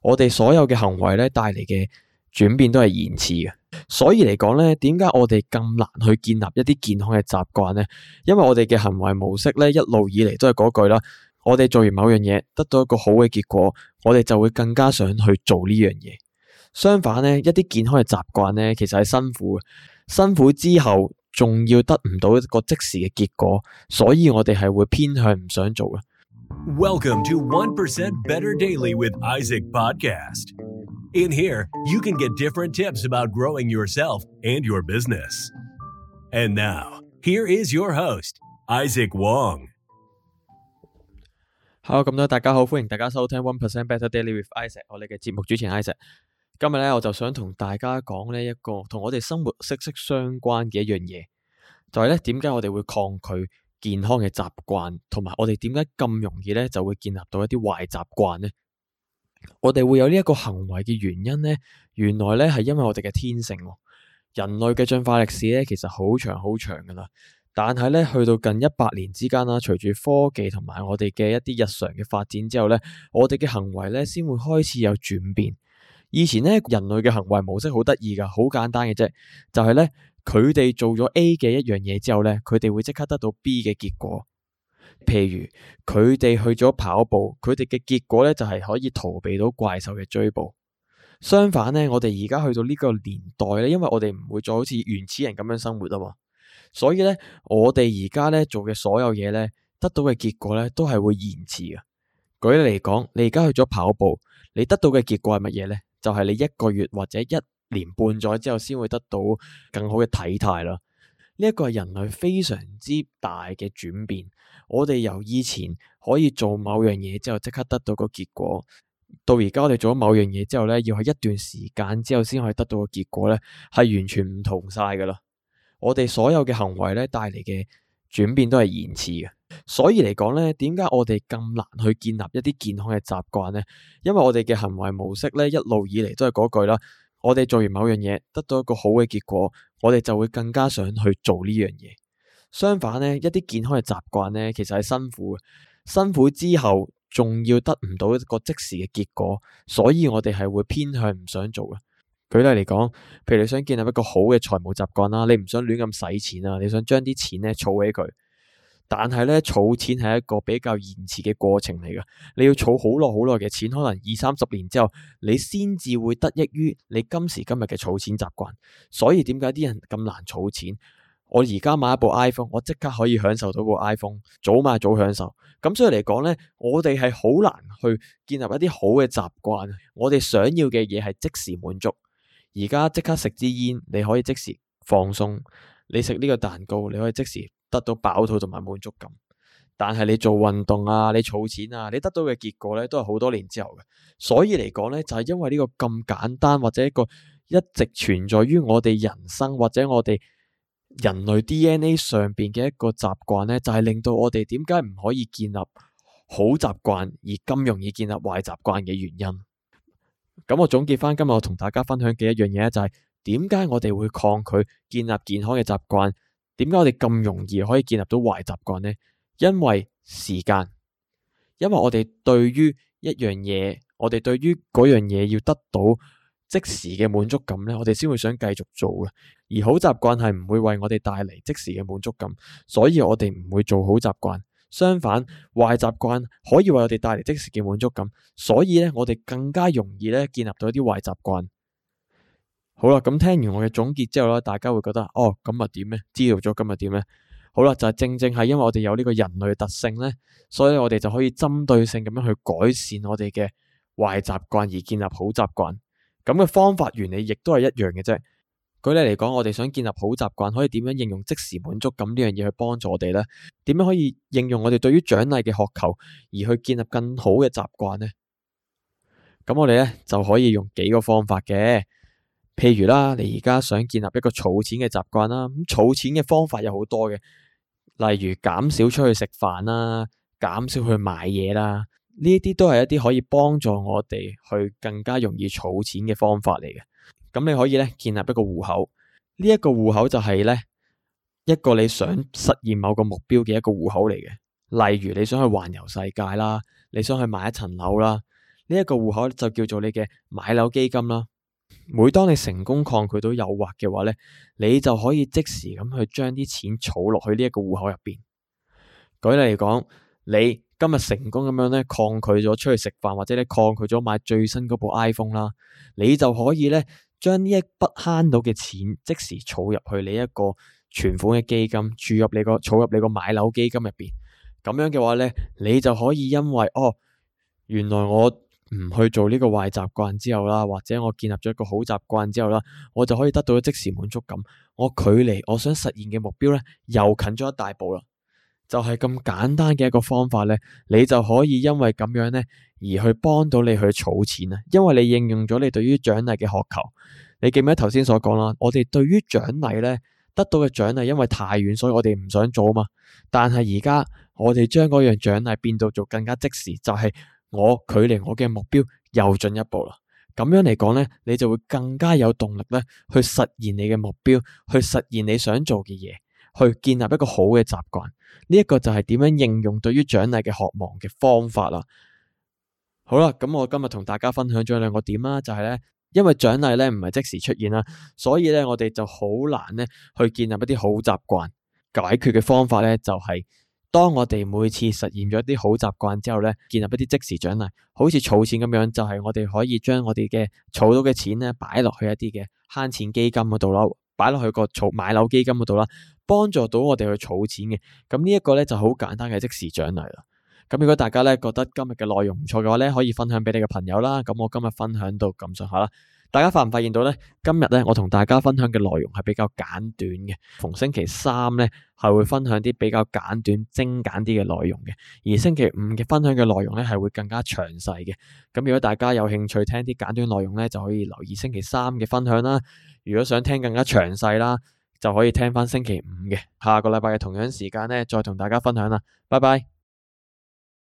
我哋所有嘅行為咧帶嚟嘅轉變都係延遲嘅。所以嚟講咧，點解我哋咁難去建立一啲健康嘅習慣呢？因為我哋嘅行為模式咧一路以嚟都係嗰句啦，我哋做完某樣嘢得到一個好嘅結果，我哋就會更加想去做呢樣嘢。相反呢，一啲健康嘅習慣呢，其實係辛苦嘅，辛苦之後仲要得唔到一個即時嘅結果，所以我哋係會偏向唔想做嘅。 Welcome to 1% Better Daily with Isaac Podcast. In here, you can get different tips about growing yourself and your business. And now, here is your host, Isaac Wong. Hello， 咁多大家好，歡迎大家收聽 1% Better Daily with Isaac， 我哋嘅節目主持人 Isaac。今日咧，我就想同大家講呢一個同我哋生活息息相關嘅一樣嘢，就係咧點解我哋會抗拒健康嘅習慣，同埋我哋點解咁容易咧就會建立到一啲壞習慣呢？我哋會有呢一個行為嘅原因呢，原來咧係因為我哋嘅天性。人類嘅進化歷史咧其實好長好長噶啦，但係咧去到近100年之間啦，隨住科技同埋我哋嘅一啲日常嘅發展之後咧，我哋嘅行為咧先會開始有轉變。以前咧人類嘅行為模式好得意噶，好簡單嘅啫，就係咧佢哋做咗 A 嘅一樣嘢之後咧，佢哋會即刻得到 B 嘅結果。譬如佢哋去咗跑步，佢哋嘅結果咧就係可以逃避到怪獸嘅追捕。相反咧，我哋而家去到呢個年代咧，因為我哋唔會再好似原始人咁樣生活啊嘛，所以咧我哋而家咧做嘅所有嘢咧，得到嘅結果咧都係會延遲嘅。舉例嚟講，你而家去咗跑步，你得到嘅結果係乜嘢咧？就係你1個月或者1年半載之後先會得到更好嘅體態啦。呢一個係人類非常之大嘅轉變。我哋由以前可以做某樣嘢之後即刻得到個結果，到而家我哋做咗某樣嘢之後咧，要喺一段時間之後先可以得到個結果咧，係完全唔同晒噶啦。我哋所有嘅行為咧帶嚟嘅轉變都係延遲嘅。所以嚟講咧，點解我哋咁難去建立一啲健康嘅習慣呢？因為我哋嘅行為模式咧一路以嚟都係嗰句啦，我哋做完某樣嘢得到一個好嘅結果，我哋就會更加想去做呢樣嘢。相反呢，一啲健康嘅習慣呢，其實係辛苦嘅，辛苦之後仲要得唔到一個即時嘅結果，所以我哋係會偏向唔想做嘅。舉例嚟講，譬如你想建立一個好嘅財務習慣啦，你唔想亂咁使錢啊，你想將啲錢咧儲起佢。但係咧，儲錢係一個比較延遲嘅過程嚟噶，你要儲好耐好耐嘅錢，可能20-30年之後，你先至會得益於你今時今日嘅儲錢習慣。所以點解啲人咁難儲錢？我而家買一部 iPhone， 我即刻可以享受到部 iPhone， 早買早享受。咁所以嚟講咧，我哋係好難去建立一啲好嘅習慣。我哋想要嘅嘢係即時滿足。而家即刻食支煙，你可以即時放鬆；你食呢個蛋糕，你可以即時得到飽肚同埋滿足感。但係你做運動啊，你儲錢啊，你得到嘅結果咧都係好多年之後嘅。所以嚟講咧，就係因為呢個咁簡單或者一個一直存在於我哋人生或者我哋人類 DNA 上邊嘅一個習慣咧，就係令到我哋點解唔可以建立好習慣而咁容易建立壞習慣嘅原因。咁我總結翻今日我同大家分享嘅一樣嘢就係點解我哋會抗拒建立健康嘅習慣？點解我哋咁容易可以建立到壞習慣呢？因為時間，因為我哋對於一樣嘢，我哋對於嗰樣嘢要得到即時嘅滿足感咧，我哋先會想繼續做嘅。而好習慣係唔會為我哋帶嚟即時嘅滿足感，所以我哋唔會做好習慣。相反，壞習慣可以為我哋帶嚟即時嘅滿足感，所以咧我哋更加容易咧建立到一啲壞習慣。好啦，咁聽完我嘅總結之後咧，大家會覺得哦，咁啊點咧？知道咗今日點咧？好啦，就係正正係因為我哋有呢個人類特性咧，所以我哋就可以針對性咁樣去改善我哋嘅壞習慣而建立好習慣。咁嘅方法原理亦都係一樣嘅啫。舉例嚟講，我哋想建立好習慣，可以點樣應用即時滿足感呢樣嘢去幫助我哋呢？點樣可以應用我哋對於獎勵嘅渴求而去建立更好嘅習慣呢？咁我哋咧就可以用幾個方法嘅。譬如啦，你而家想建立一個儲錢嘅習慣啦，咁儲錢嘅方法有好多嘅，例如減少出去食飯啦，減少去買嘢啦，呢啲都係一啲可以幫助我哋去更加容易儲錢嘅方法嚟嘅。咁你可以咧建立一個戶口，呢一個戶口就係咧一個你想實現某個目標嘅一個戶口嚟嘅。例如你想去環遊世界啦，你想去買一層樓啦， 呢一個戶口就叫做你嘅買樓基金啦。每當你成功抗拒到誘惑嘅話呢，你就可以即時咁去將啲錢儲落去呢一個戶口入邊。舉例嚟講，你今日成功咁樣咧抗拒咗出去食飯，或者你抗拒咗買最新嗰部 iPhone 啦，你就可以咧將呢一筆慳到嘅錢即時儲入去你一個存款嘅基金，儲入你個買樓基金入邊。咁樣嘅話咧，你就可以因為原來我唔去做呢個壞習慣之後啦，或者我建立咗一個好習慣之後啦，我就可以得到即時滿足感。我距離我想實現嘅目標咧又近咗一大步啦。就係咁簡單嘅一個方法咧，你就可以因為咁樣咧而去幫到你去儲錢啊。因為你應用咗你對於獎勵嘅渴求。你記唔記得頭先所講啦？我哋對於獎勵咧得到嘅獎勵，因為太遠，所以我哋唔想做啊嘛。但係而家我哋將嗰樣獎勵變到做更加即時，就係我距離我嘅目標又進一步啦。咁樣嚟講咧，你就會更加有動力咧去實現你嘅目標，去實現你想做嘅嘢，去建立一個好嘅習慣。呢一個就係點樣應用對於獎勵嘅渴望嘅方法啦。好啦，咁我今日同大家分享咗兩個點啦，就係咧，因為獎勵咧唔係即時出現啦，所以咧我哋就好難咧去建立一啲好習慣。解決嘅方法咧就係，當我哋每次實現咗一啲好習慣之後咧，建立一啲即時獎勵，好似儲錢咁樣，就係我哋可以將我哋嘅儲到嘅錢咧擺落去一啲嘅慳錢基金嗰度啦，擺落去個買樓基金嗰度啦，幫助到我哋去儲錢嘅。咁呢一個咧就好簡單嘅即時獎勵啦。咁如果大家咧覺得今日嘅內容唔錯嘅話咧，可以分享俾你嘅朋友啦。咁我今日分享到咁上下啦。大家發唔發現到咧？今日咧我同大家分享嘅內容係比較簡短嘅。逢星期三咧係會分享啲比較簡短、精簡啲嘅內容嘅，而星期五嘅分享嘅內容咧係會更加詳細嘅。咁如果大家有興趣聽啲簡短內容咧，就可以留意星期三嘅分享啦。如果想聽更加詳細啦，就可以聽翻星期五嘅。下個禮拜嘅同樣時間咧，再同大家分享啦。拜拜。